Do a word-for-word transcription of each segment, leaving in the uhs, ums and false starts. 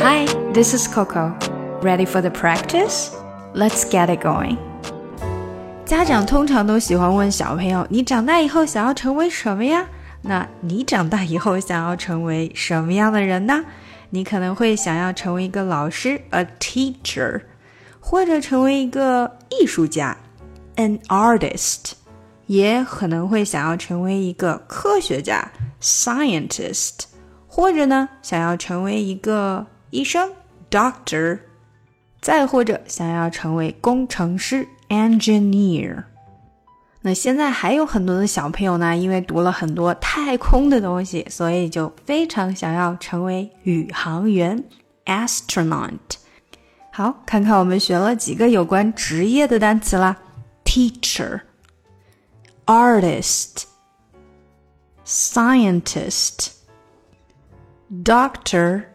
Hi, this is Coco. Ready for the practice? Let's get it going. 家长通常都喜欢问小朋友，你长大以后想要成为什么呀？那你长大以后想要成为什么样的人呢？你可能会想要成为一个老师 a teacher， 或者成为一个艺术家 an artist， 也可能会想要成为一个科学家 scientist， 或者呢想要成为一个医生 doctor， 再或者想要成为工程师 engineer。 那现在还有很多的小朋友呢，因为读了很多太空的东西，所以就非常想要成为宇航员 astronaut。 好，看看我们学了几个有关职业的单词啦。 Teacher, Artist, Scientist, Doctor,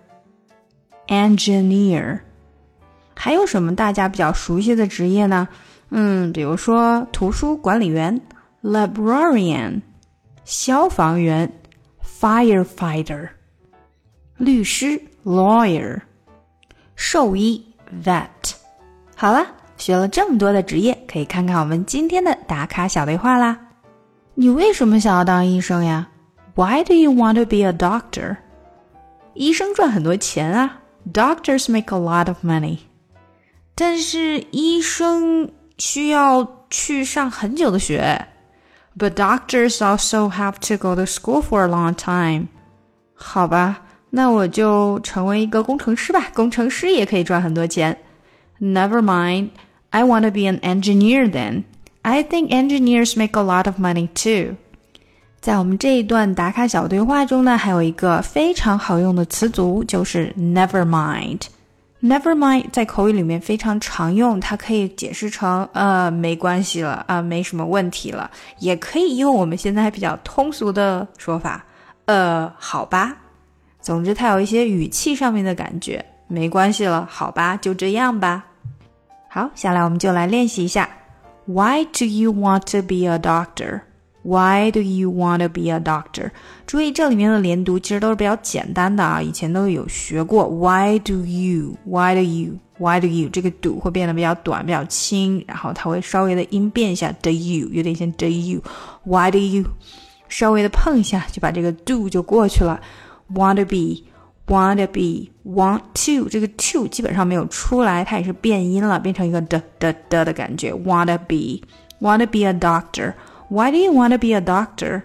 Engineer。 还有什么大家比较熟悉的职业呢？嗯，比如说图书管理员 librarian， 消防员 firefighter， 律师 lawyer， 兽医 vet。 好了，学了这么多的职业，可以看看我们今天的打卡小对话啦。你为什么想要当医生呀？ Why do you want to be a doctor？ 医生赚很多钱啊， Doctors make a lot of money。 但是医生需要去上很久的学 But doctors also have to go to school for a long time。 好吧，那我就成为一个工程师吧，工程师也可以赚很多钱。 Never mind, I want to be an engineer then. I think engineers make a lot of money too。 在我们这一段打卡小对话中呢，还有一个非常好用的词组，就是 never mind。Never mind 在口语里面非常常用，它可以解释成呃没关系了啊、呃，没什么问题了，也可以用我们现在比较通俗的说法，呃好吧。总之它有一些语气上面的感觉，没关系了，好吧，就这样吧。好，下来我们就来练习一下。 Why do you want to be a doctor?Why do you want to be a doctor？ 注意这里面的连读其实都是比较简单的啊，以前都有学过。 Why do you Why do you Why do you 这个 do 会变得比较短比较轻，然后它会稍微的音变一下 do you， 有点像 do you Why do you 稍微的碰一下就把这个 do 就过去了。 Want to be Want to be Want to 这个 to 基本上没有出来，它也是变音了，变成一个 d d d 的感觉。 Want to be Want to be a doctor。Why do you want to be a doctor?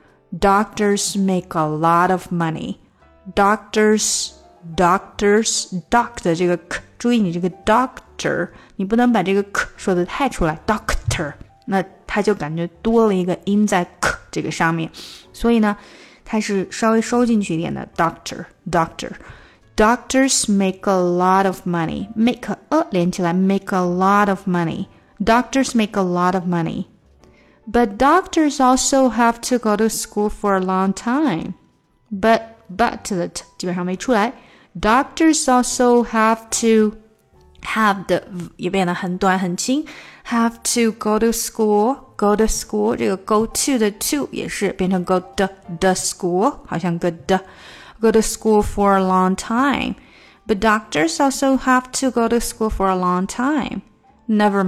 Doctors make a lot of money. Doctors, doctors, doc 的这个 k， 注意你这个 doctor， 你不能把这个 k 说得太出来 doctor， 那它就感觉多了一个音在 k 这个上面，所以呢，它是稍微收进去一点的 doctor, doctor. Doctors make a lot of money. Make a 连起来 make a lot of money. Doctors make a lot of money.But doctors also have to go to school for a long time. But, but 的 t 基本上没出来。Doctors also have to have 的也变得很短很轻。Have to go to school, go to school 这个 go to 的 to 也是变成 go to the school， 好像个 the go to school for a long time. But doctors also have to go to school for a long time. Never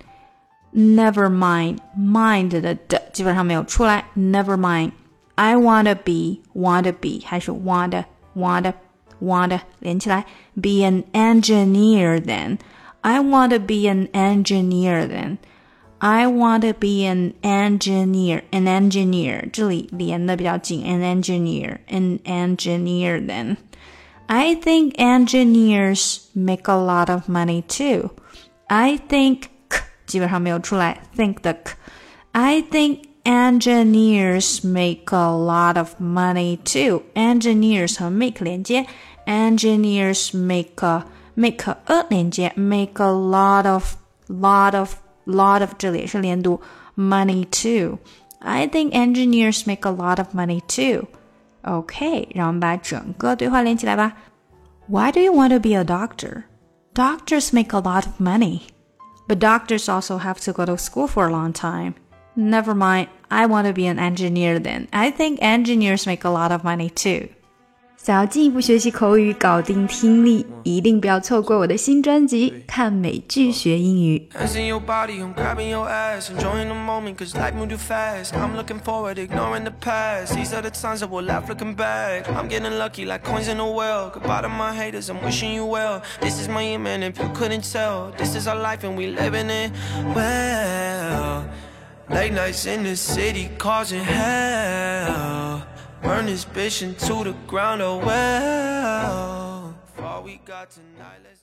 mind.Never mind, mind 的的基本上没有出来。 Never mind, I wanna be, wanna be 还是 wanna, wanna, wanna 连起来 Be an engineer then. I wanna be an engineer then. I wanna be an engineer, an engineer 这里连的比较紧 An engineer, an engineer then. I think engineers make a lot of money too. I think基本上没有出来 think 的 k. I think engineers make a lot of money too. Engineers 和 make 连接 Engineers make a make a, a 连接 make a lot of lot of lot of 这里也是连读 money too. I think engineers make a lot of money too. OK, 让我们把整个对话连起来吧。 Why do you want to be a doctor? Doctors make a lot of money.But doctors also have to go to school for a long time. Never mind, I want to be an engineer then. I think engineers make a lot of money too. 想要进一步学习口语，搞定听力，一定不要错过我的新专辑《看美剧学英语》。 Late nights in the city causing hell. Burn this bitch into the ground, oh well. All we got tonight, let's